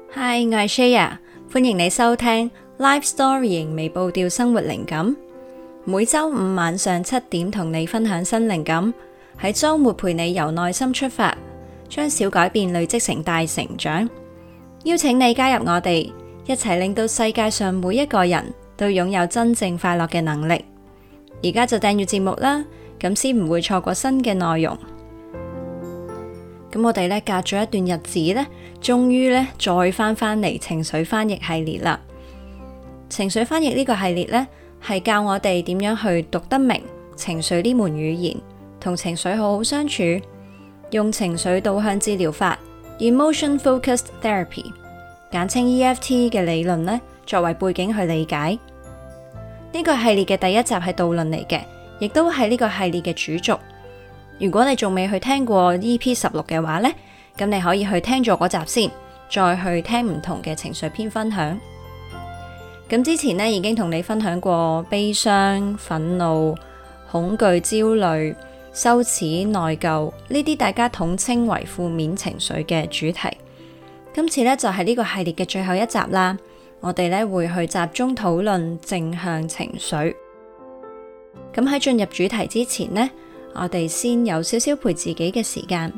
Hi， 我係 Shaya， 歡迎你收聽 Life Storying 微步調生活靈感。每周五晚上7點同你分享新靈感，喺周末陪你由內心出發，將小改變累積成大成長。邀請你加入我哋，一齊令到世界上每一個人都擁有真正快樂嘅能力。而家就訂閱節目啦，咁先唔會錯過新嘅內容。咁我哋咧隔咗一段日子咧，終於咧再翻嚟情緒翻譯系列啦。情緒翻譯呢個系列咧，係教我哋點樣去讀得明情緒呢門語言，同情緒好好相處，用情緒導向治療法 （Emotion Focused Therapy） 簡稱 EFT 嘅理論咧，作為背景去理解。呢個系列嘅第一集係導論嚟嘅，亦都係呢個系列嘅主軸。如果你仲未去聽過 EP16 嘅話呢，咁你可以去聽咗嗰集先，再去聽唔同嘅情緒篇分享。咁之前呢，已經同你分享過悲傷、憤怒、恐懼、焦慮、羞恥、內疚呢啲大家統稱為負面情緒嘅主題。今次呢，就係呢個系列嘅最後一集啦，我哋呢會去集中討論正向情緒。咁喺進入主題之前呢，我哋先有少少陪自己嘅時間。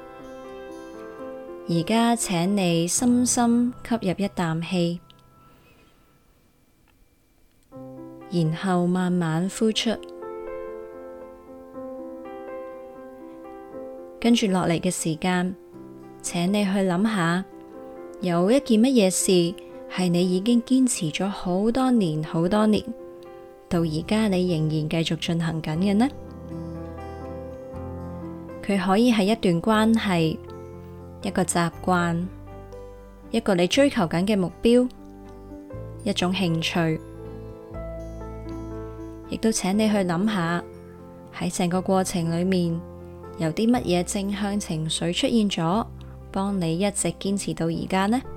而家請你深深吸入一啖氣，然後慢慢呼出。跟住落嚟嘅時間，請你去諗下，有一件乜嘢事係你已經堅持咗好多年，到而家你仍然繼續進行緊嘅呢？佢可以係一段關係，一個習慣，一個你追求緊嘅目標，一種興趣。亦都請你去諗下，喺成個過程裏面有啲乜嘢正向情緒出現咗，幫你一直堅持到而家呢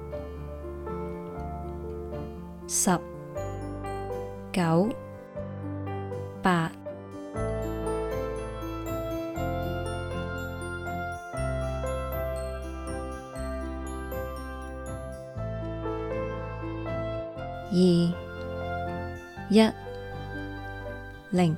？10、9、8、2、1、0。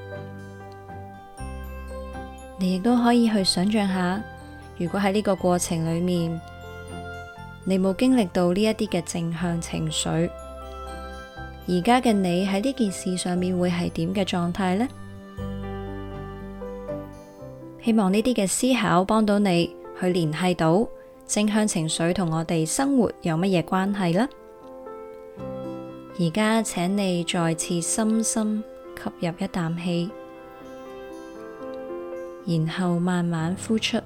你亦都可以去想象下，如果喺呢個過程裏面，你冇經歷到呢一啲嘅正向情緒，而家嘅你喺呢件事上面會係點嘅狀態呢？希望呢啲嘅思考幫到你去聯繫到正向情緒同我哋生活有乜嘢關係呢？而家請你再次深深吸入一啖氣，然後慢慢呼出。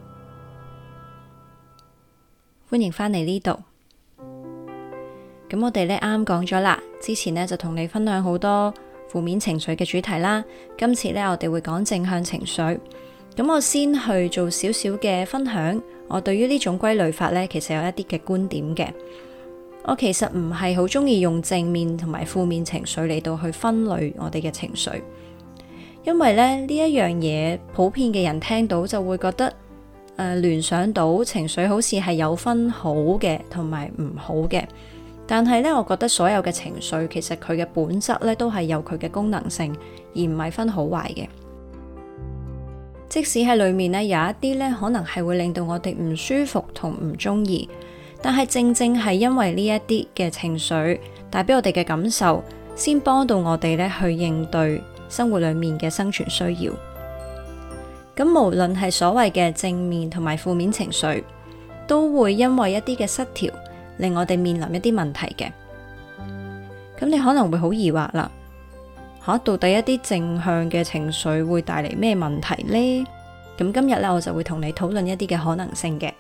歡迎返嚟呢度。咁我哋呢啱講咗啦，之前呢就同你分享好多負面情緒嘅主題啦。今次呢我哋會講正向情緒。咁我先去做少少嘅分享。我對於呢種歸類法呢，其實有一啲嘅觀點嘅。我其實唔係好中意用正面同埋負面情緒嚟到去分類我哋嘅情緒，因為咧呢一樣嘢普遍嘅人聽到就會覺得聯想到情緒好似係有分好嘅同埋唔好嘅，但係呢，我覺得所有嘅情緒其實佢嘅本質呢都係有佢嘅功能性，而唔係分好壞嘅。即使喺裏面呢，有一啲呢可能係會令到我哋唔舒服同唔中意。但係正正係因為呢一啲嘅情緒帶俾我哋嘅感受，先幫到我哋咧去應對生活裏面嘅生存需要。咁無論係所謂嘅正面同埋負面情緒，都會因為一啲嘅失調，令我哋面臨一啲問題嘅。咁你可能會好疑惑啦，到底一啲正向嘅情緒會帶嚟咩問題呢？咁今日咧我就會同你討論一啲嘅可能性嘅。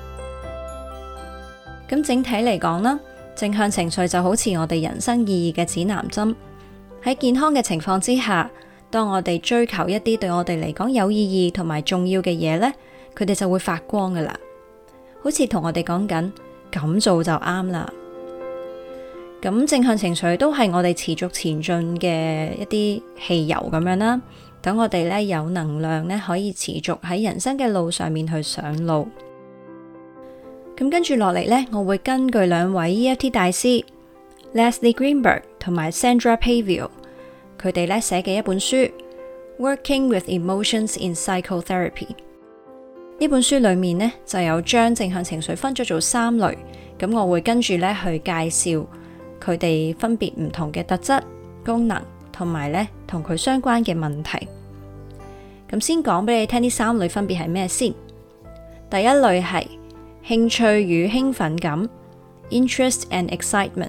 咁整體嚟講啦，正向情緒就好似我哋人生意義嘅指南針。喺健康嘅情況之下，當我哋追求一啲對我哋嚟講有意義同埋重要嘅嘢呢，佢哋就會發光噶啦，好似同我哋講緊咁做就啱啦。咁正向情緒都係我哋持續前進嘅一啲汽油咁樣啦，等我哋呢有能量呢可以持續喺人生嘅路上面去上路。 咁跟住落嚟呢，我會根據兩位 EFT 大師 Leslie Greenberg 同埋 Sandra Pavio 佢哋咧寫嘅一本書 Working with Emotions in Psychotherapy。呢本書裏面呢，就有將正向情緒分咗做3類，咁我會跟住咧去介紹佢哋分別唔同嘅特質、功能同埋咧同佢相關嘅問題。咁先講俾你聽，呢3類分別係咩先？第一類係興趣與興奮感 Interest and Excitement。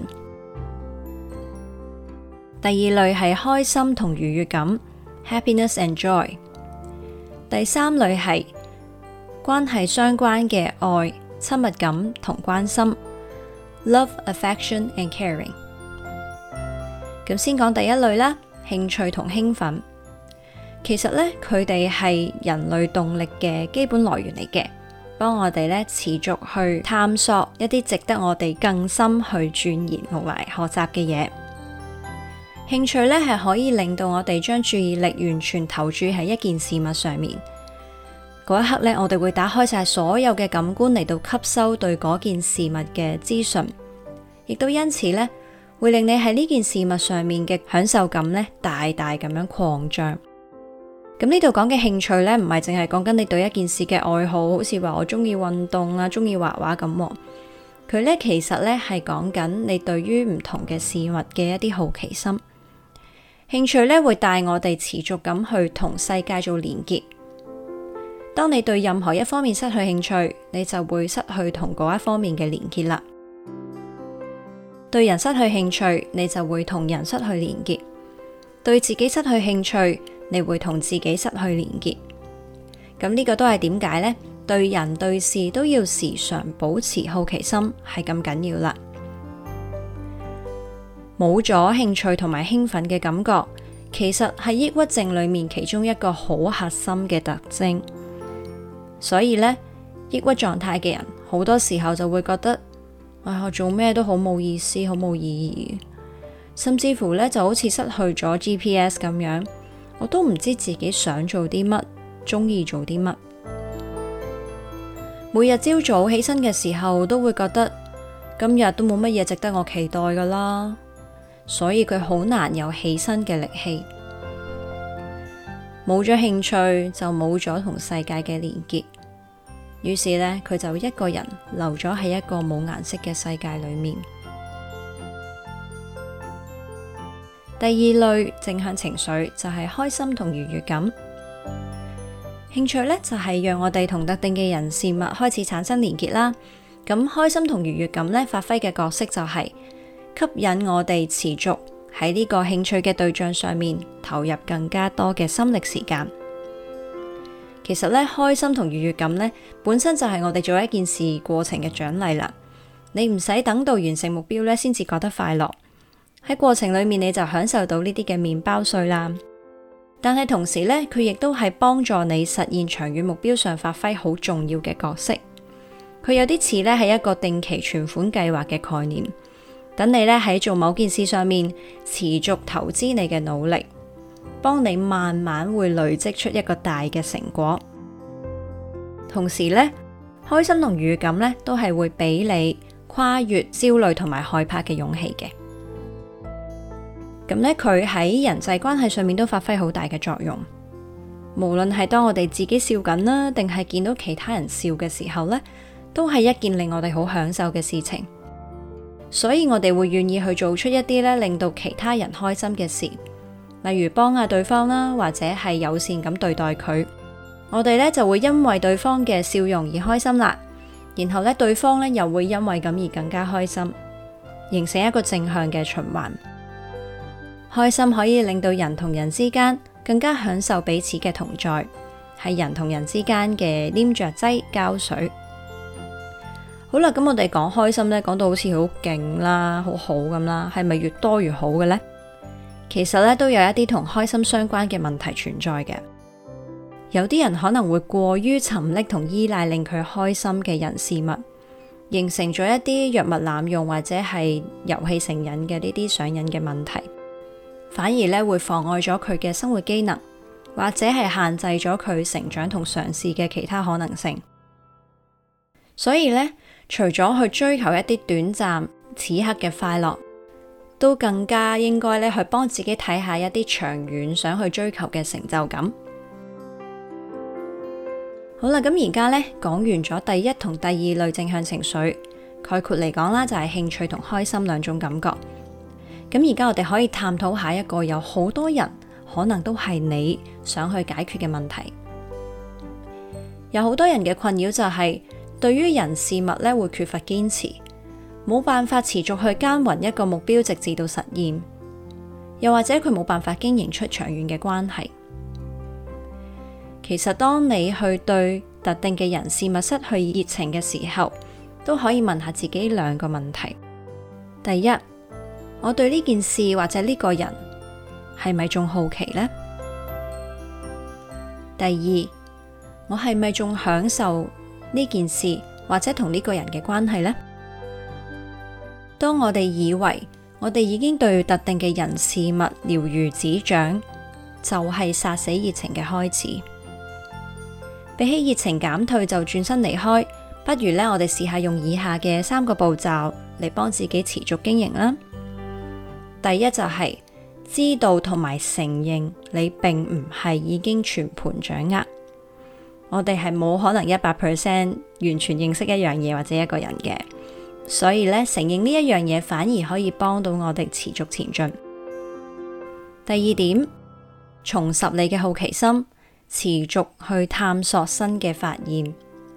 第二類係開心同愉悅感 Happiness and Joy。第三類係關係相關嘅愛、親密感同關心 Love, Affection and Caring。咁先講第一類啦，興趣同興奮。其實呢，佢哋係人類動力嘅基本來源嚟嘅，幫我哋呢持續去探索一啲值得我哋更深去鑽研同埋學習嘅嘢。興趣呢係可以令到我哋將注意力完全投注喺一件事物上面。嗰一刻呢，我哋會打開晒所有嘅感官嚟到吸收對嗰件事物嘅資訊，亦都因此呢，會令你喺呢件事物上面嘅享受感呢大大咁樣擴張。咁呢度講嘅興趣呢，唔係淨係講緊你對一件事嘅愛好，好似話我中意運動啊，中意畫畫咁。佢呢其實呢係講緊你對於唔同嘅事物嘅一啲好奇心。興趣呢會帶我哋持續咁去同世界做連結。當你對任何一方面失去興趣，你就會失去同嗰一方面嘅連結啦。對人失去興趣，你就會同人失去連結；對自己失去興趣，你會同自己失去連結。咁呢個都係點解呢？對人對事都要時常保持好奇心，係咁緊要啦。冇咗興趣同埋興奮嘅感覺，其實係抑鬱症裏面其中一個好核心嘅特徵。所以呢，抑鬱狀態嘅人好多時候就會覺得，我做咩都好冇意思，好冇意義，甚至乎呢就好似失去咗 GPS 咁樣，我都唔知自己想做啲乜，中意做啲乜。每日朝早起身嘅時候都會覺得，今日都冇乜嘢值得我期待噶啦，所以佢好難有起身嘅力氣。冇咗興趣就冇咗同世界嘅連結，於是呢，佢就一個人留咗喺一個冇顏色嘅世界裏面。第二類正向情緒就係開心同愉悅感。興趣呢，就係讓我哋同特定嘅人事物開始產生連結啦。咁開心同愉悅感呢，發揮嘅角色就係吸引我哋持續喺呢個興趣嘅對象上面投入更加多嘅心力時間。其實咧，開心同愉悅感咧，本身就係我哋做一件事過程嘅獎勵啦。你唔使等到完成目標咧，先至覺得快樂。喺過程裏面，你就享受到呢啲嘅麵包碎啦。但係同時咧，佢亦都係幫助你實現長遠目標上發揮好重要嘅角色。佢有啲似咧係一個定期存款計劃嘅概念。等你咧喺做某件事上面持續投資你嘅努力，幫你慢慢會累積出一個大嘅成果。同時咧，開心同愉悅感咧都係會俾你跨越焦慮同埋害怕嘅勇氣嘅。咁咧，佢喺人際關係上面都發揮好大嘅作用。無論係當我哋自己笑緊啦，定係見到其他人笑嘅時候咧，都係一件令我哋好享受嘅事情。所以我哋會願意去做出一啲咧令到其他人開心嘅事，例如幫下對方啦，或者係友善咁對待佢。我哋咧就會因為對方嘅笑容而開心啦，然後咧對方咧又會因為咁而更加開心，形成一個正向嘅循環。開心可以令到人同人之間更加享受彼此嘅同在，係人同人之間嘅黏着劑膠水。好啦，咁我哋講開心咧，講到好似好勁啦，好好咁啦，係咪越多越好嘅呢？其實咧都有一啲同開心相關嘅問題存在嘅。有啲人可能會過於沉溺同依賴令佢開心嘅人事物，形成咗一啲藥物濫用或者係遊戲成癮嘅呢啲上癮嘅問題，反而咧會妨礙咗佢嘅生活機能，或者係限制咗佢成長同嘗試嘅其他可能性。所以咧， 除咗去追求一啲短暫此刻嘅快樂，都更加應該咧去幫自己睇下一啲長遠想去追求嘅成就感。好啦，咁而家咧講完咗第一同第二類正向情緒，概括嚟講啦，就係興趣同開心兩種感覺。咁而家我哋可以探討下一個有好多人可能都係你想去解決嘅問題。有好多人嘅困擾就係對於人事物咧會缺乏堅持，冇辦法持續去耕耘一個目標直至到實現，又或者佢冇辦法經營出長遠嘅關係。其實當你去對特定嘅人事物失去熱情嘅時候，都可以問下自己兩個問題。第一，我對呢件事或者呢個人係咪仲好奇呢？第二，我係咪仲享受呢件事或者同呢個人嘅關係呢？當我哋以為我哋已經對特定嘅人事物了如指掌，就係殺死熱情嘅開始。比起熱情減退就轉身離開，不如呢，我哋試下用以下嘅3個步驟嚟幫自己持續經營啦。第一就係知道同埋承認你並唔係已經全盤掌握。我哋係冇可能100% 完全認識一樣嘢或者一個人嘅，所以呢，承認呢一樣嘢反而可以幫到我哋持續前進。第二點，重拾你嘅好奇心，持續去探索新嘅發現。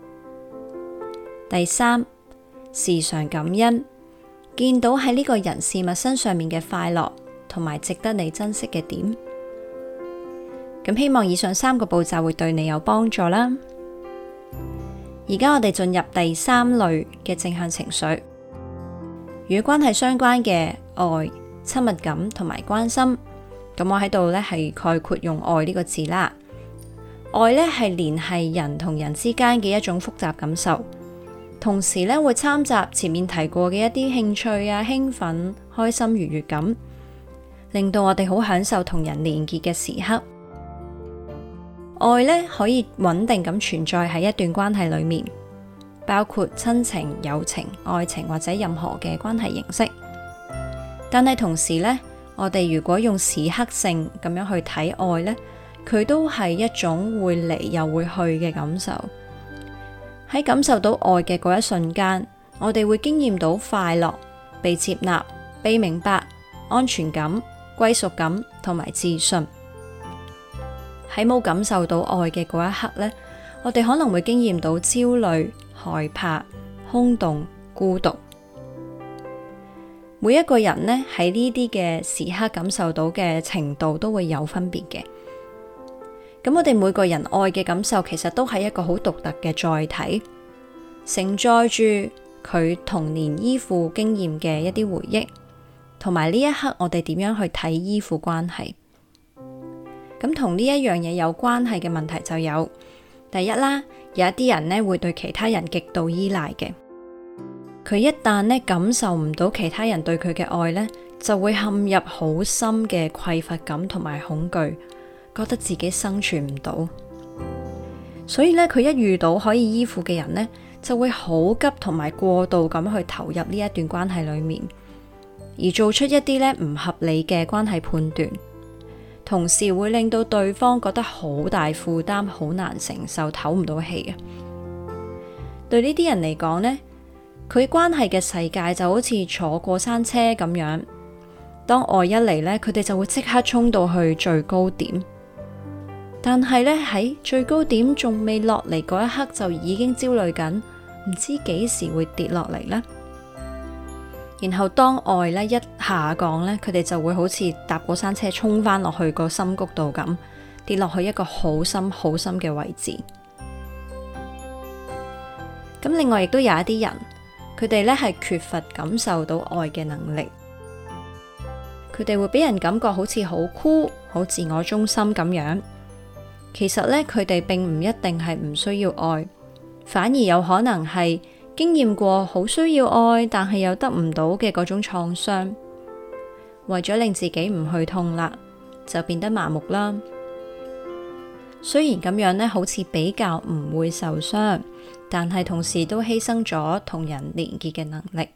第三，時常感恩，見到喺呢個人事物身上面嘅快樂同埋值得你珍惜嘅點。咁希望以上3個步驟會對你有幫助啦。而家我哋進入第3類嘅正向情緒，與關係相關嘅愛、親密感同埋關心。咁我喺度呢係概括用愛呢個字啦。愛呢係聯繫人同人之間嘅一種複雜感受，同時呢會摻雜前面提過嘅一啲興趣啊、興奮、開心、愉悅感，令到我哋好享受同人連結嘅時刻。愛呢可以穩定咁存在喺一段關係裏面，包括親情、友情、愛情或者任何嘅關係形式。但係同時呢，我哋如果用時刻性咁樣去睇愛呢，佢都係一種會嚟又會去嘅感受。喺感受到愛嘅嗰一瞬間，我哋會經驗到快樂、被接納、被明白、安全感、歸屬感同埋自信。喺冇感受到愛嘅嗰一刻呢，我哋可能會經驗到焦慮、害怕、空洞、孤獨。每一個人呢，喺呢啲嘅時刻感受到嘅程度都會有分別嘅。咁我哋每個人愛嘅感受其實都係一個好獨特嘅載體，承載住佢童年依附經驗嘅一啲回憶，同埋呢一刻我哋點樣去睇依附關係。咁同呢一樣嘢有關係嘅問題就有，第一啦，有一啲人呢會對其他人極度依賴嘅，佢一旦呢感受唔到其他人對佢嘅愛呢，就會陷入好深嘅匱乏感同埋恐懼，覺得自己生存唔到，所以呢，佢一遇到可以依附嘅人呢，就會好急同埋過度咁去投入呢一段關係裏面，而做出一啲呢唔合理嘅關係判斷，同時會令到對方覺得好大負擔，好難承受，唞唔到氣啊！對呢啲人嚟講呢，佢關係嘅世界就好似坐過山車咁樣，當愛一嚟呢，佢哋就會即刻衝到去最高點。但係呢，喺最高點仲未落嚟嗰一刻，就已經焦慮緊，唔知幾時會跌落嚟呢。然後當愛呢一下降呢，佢哋就會好似搭過山車衝翻落去個深谷度咁，跌落去一個好深好深嘅位置。咁另外亦都有一啲人，佢哋呢係缺乏感受到愛嘅能力，佢哋會俾人感覺好似好酷、好自我中心咁樣。其實呢，佢哋並唔一定係唔需要愛，反而有可能係經驗過好需要愛，但係又得唔到嘅嗰種創傷，為咗令自己唔去痛啦，就變得麻木啦。雖然咁樣呢，好似比較唔會受傷， 但係同時都犧牲咗同人連結嘅能力。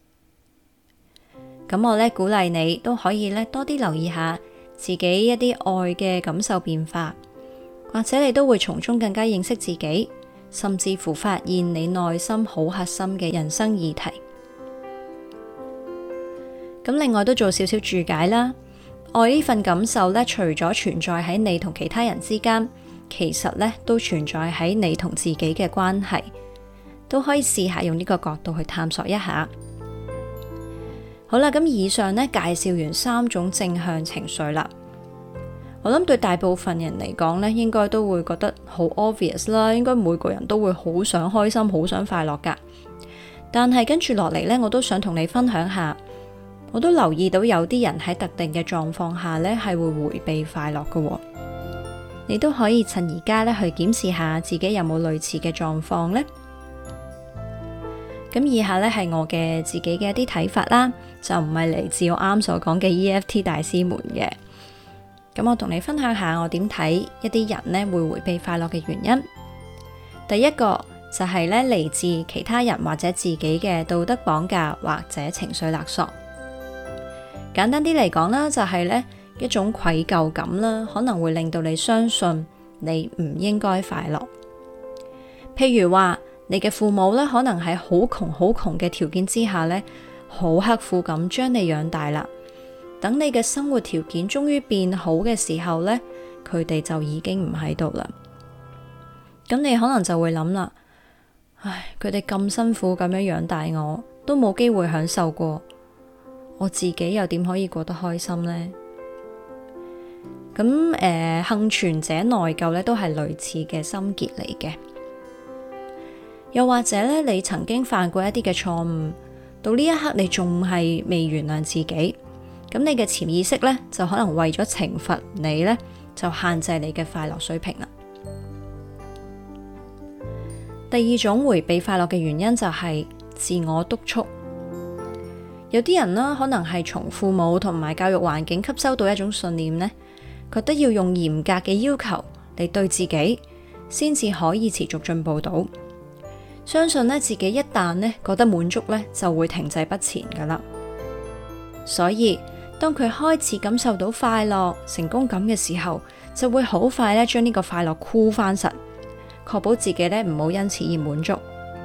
咁我鼓勵你都可以多啲留意下自己一啲愛嘅感受變化，或者你都會從中更加認識自己，甚至乎發現你內心好核心嘅人生議題。咁另外都做少少注解啦。愛呢份感受除咗存在喺你同其他人之間，其實都存在喺你同自己嘅關係，都可以試下用呢個角度去探索一下。好啦，咁以上介紹完3種正向情緒啦。我諗對大部分人嚟講應該都會覺得好 obvious 啦，應該每個人都會好想開心，好想快樂噶。但係跟住落嚟我都想同你分享下，我都留意到有啲人喺特定嘅狀況下係會回避快樂噶。你都可以趁而家去檢視下自己有冇類似嘅狀況呢。咁以下係我嘅自己嘅一啲睇法啦，就唔係嚟自我啱所講嘅 EFT 大師們嘅。咁我同你分享下我點睇一啲人會回避快樂嘅原因。第一個就係嚟自其他人或者自己嘅道德綁架或者情緒勒索。簡單啲嚟講啦，就係一種愧疚感啦，可能會令到你相信你唔應該快樂。譬如話，你嘅父母可能喺好窮嘅條件之下好刻苦咁將你養大啦。等你嘅生活條件終於變好嘅時候佢哋就已經唔喺度啦。咁你可能就會諗啦，唉，佢哋咁辛苦咁樣養大我，都冇機會享受過，我自己又點可以過得開心呢？咁幸存者內疚都係類似嘅心結嚟嘅。又或者你曾經犯過一啲嘅錯誤，到呢一刻你仲係未原諒自己，咁你嘅潛意識就可能為咗懲罰你就限制你嘅快樂水平啦。第二種回避快樂嘅原因就係自我督促。有啲人可能係從父母同埋教育環境吸收到一種信念覺得要用嚴格嘅要求嚟對自己，先至可以持續進步到。相信自己一旦覺得滿足就會停滯不前噶啦。所以當佢開始感受到快樂、成功感嘅時候，就會好快將呢個快樂箍翻實，確保自己唔好因此而滿足。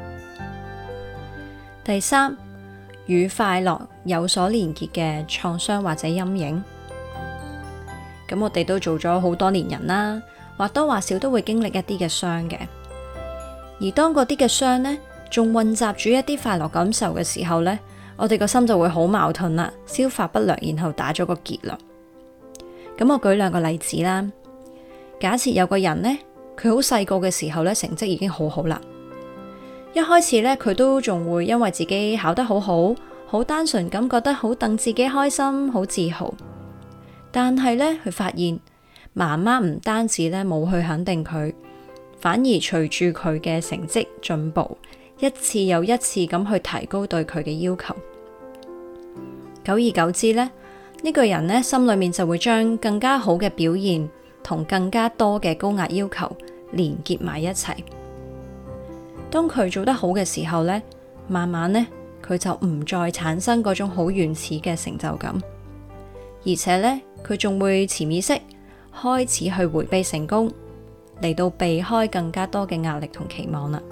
第三，與快樂有所連結嘅創傷或者陰影。咁我哋都做咗好多年人啦，或多或少都會經歷一啲嘅傷嘅。而當嗰啲嘅傷仲混雜住一啲快樂感受嘅時候我哋個心就會好矛盾啦，消化不良，然後打咗個結論。咁我舉2個例子啦。假設有個人佢好細個嘅時候成績已經好好啦，一開始佢都仲會因為自己考得好好，好單純咁覺得好等自己開心，好自豪。但係佢發現媽媽唔單止冇去肯定佢，反而隨住佢嘅成績進步，一次又一次咁去提高對佢嘅要求。久而久之呢個人心裏面就會將更加好嘅表現同更加多嘅高壓要求連結埋一齊。當佢做得好嘅時候慢慢佢就唔再產生嗰種好原始嘅成就感，而且佢仲會潛意識開始去回避成功，嚟到避開更加多嘅壓力同期望啦。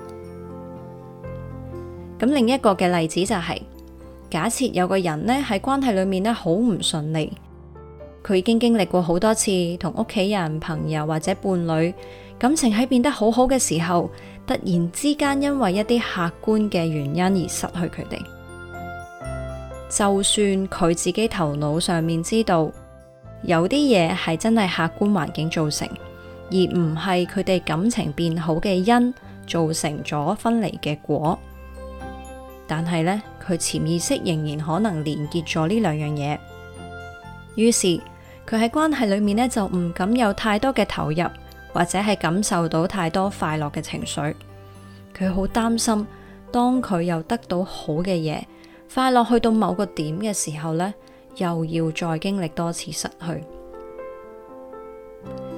咁另一個嘅例子就係，假設有個人喺關係裏面好唔順利，佢已經經歷過好多次同屋企人、朋友或者伴侶感情喺變得好好嘅時候，突然之間因為一啲客觀嘅原因而失去佢哋。就算佢自己頭腦上面知道有啲嘢係真係客觀環境造成，而唔係佢哋感情變好嘅因造成咗分離嘅果，但係佢潛意識仍然可能連結咗呢2樣嘢。於是佢喺關係裏面就唔敢有太多嘅投入，或者係感受到太多快樂嘅情緒。佢好擔心，當佢又得到好嘅嘢，快樂去到某個點嘅時候又要再經歷多次失去。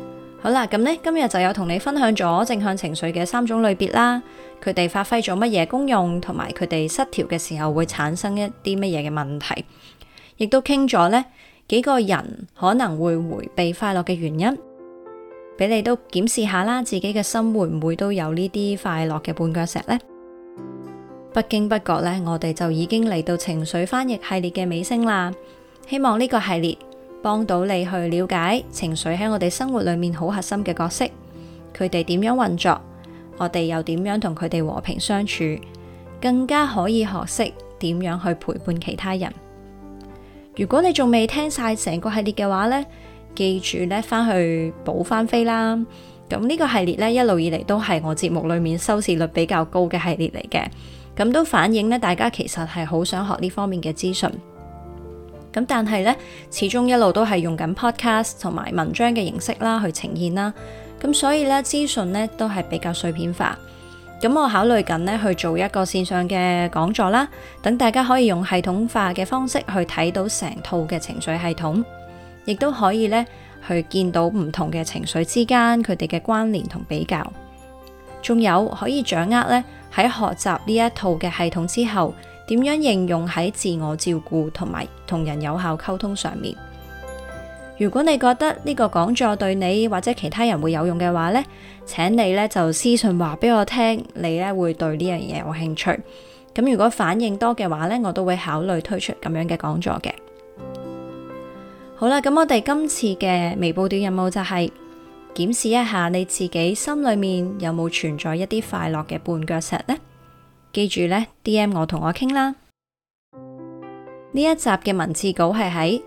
好啦，咁呢，今日就有同你分享咗正向情緒嘅3種類別啦，佢哋發揮咗乜嘢功用，同埋佢哋失調嘅時候會產生一啲乜嘢嘅問題，亦都傾咗呢幾個人可能會迴避快樂嘅原因，俾你都檢視下啦，自己嘅心會唔會都有呢啲快樂嘅絆腳石呢？不經不覺呢，我哋就已經嚟到情緒翻譯系列嘅尾聲啦。希望呢個系列幫到你去了解情緒喺我哋生活裏面好核心嘅角色，佢哋點樣運作，我哋又點樣同佢哋和平相處，更加可以學識點樣去陪伴其他人。如果你仲未聽晒成個系列嘅話呢，記住呢翻去補翻飛啦。咁呢個系列呢，一路以嚟都係我節目裏面收視率比較高嘅系列嚟嘅，咁都反映呢大家其實係好想學呢方面嘅資訊。咁但係呢，始終一路都係用緊 podcast 同埋文章嘅形式啦去呈現啦，咁所以呢，資訊呢都係比較碎片化。咁我考慮緊呢去做一個線上嘅講座啦，等大家可以用系統化嘅方式去睇到成套嘅情緒系統，亦都可以呢去見到唔同嘅情緒之間佢哋嘅關聯同比較，仲有可以掌握呢喺學習呢一套嘅系統之後，點樣應用喺自我照顧同埋同人有效溝通上面。如果你覺得呢個講座對你或者其他人會有用嘅話呢，請你呢就私信話俾我聽，你呢會對呢樣嘢有興趣。咁如果反應多嘅話呢，我都會考慮推出咁樣嘅講座嘅。好啦，咁我哋今次嘅微步調任務就係檢視一下你自己心裏面有冇存在一啲快樂嘅絆腳石呢？記住呢 DM 我同我傾啦。呢一集嘅文字稿係喺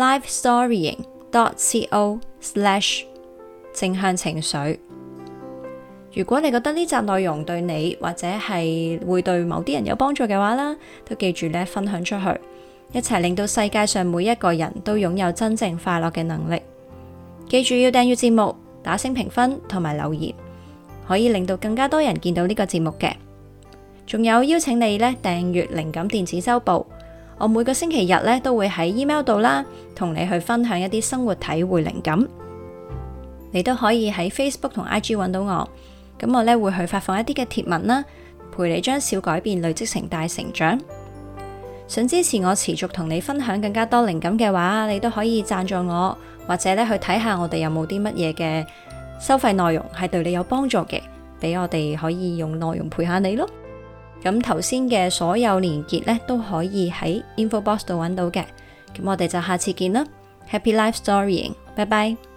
lifestorying.co/ 正向情緒。如果你覺得呢集內容對你或者係會對某啲人有幫助嘅話啦，都記住呢分享出去，一齊令到世界上每一個人都擁有真正快樂嘅能力。記住要訂閱節目、打星評分同埋留言，可以令到更加多人見到呢個節目嘅。仲有邀請你呢訂閱靈感電子週報，我每個星期日呢都會喺 email 度啦，同你去分享一啲生活體會靈感。你都可以喺 Facebook 同 IG 揾到我，咁我呢會去發放一啲嘅貼文啦，陪你將小改變累積成大成長。想支持我持續同你分享更加多靈感嘅話，你都可以贊助我，或者呢去睇下我哋有冇啲乜嘢嘅收費內容係對你有幫助嘅，俾我哋可以用內容陪下你咯。咁頭先嘅所有連結呢，都可以喺 info box 度揾到嘅。咁我哋就下次見啦。Happy Life Storying，拜拜。